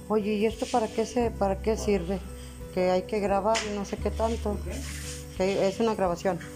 Oye, ¿y esto para qué sirve? Que hay que grabar y no sé qué tanto. Que es una grabación.